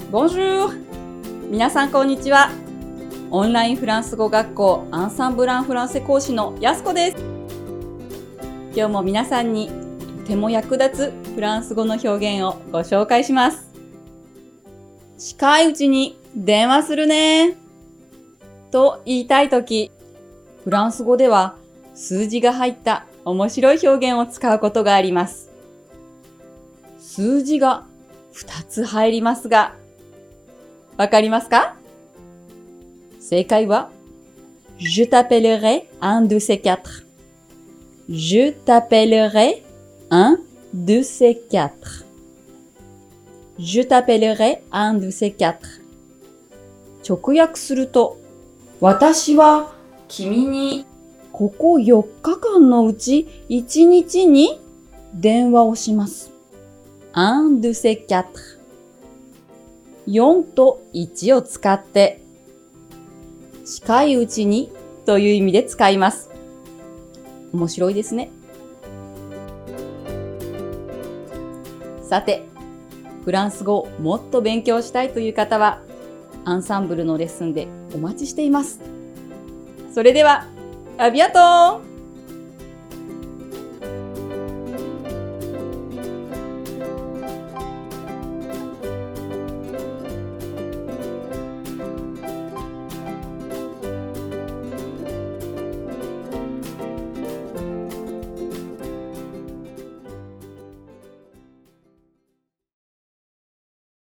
Bonjour! 皆さんこんにちは。オンラインフランス語学校アンサンブランフランセ講師のやすこです。今日も皆さんにとても役立つフランス語の表現をご紹介します。近いうちに電話するねと言いたいとき、フランス語では数字が入った面白い表現を使うことがあります。数字が2つ入りますが、わかりますか？正解は Je t'appellerai un de ces quatre. Je t'appellerai un de ces quatre. Je t'appellerai un de ces quatre. 直訳すると、私は君にここ4日間のうち1日に電話をします。un de ces quatre. 4と1を使って近いうちにという意味で使います。面白いですね。さて、フランス語をもっと勉強したいという方はアンサンブルのレッスンでお待ちしています。それでは、アビアトー！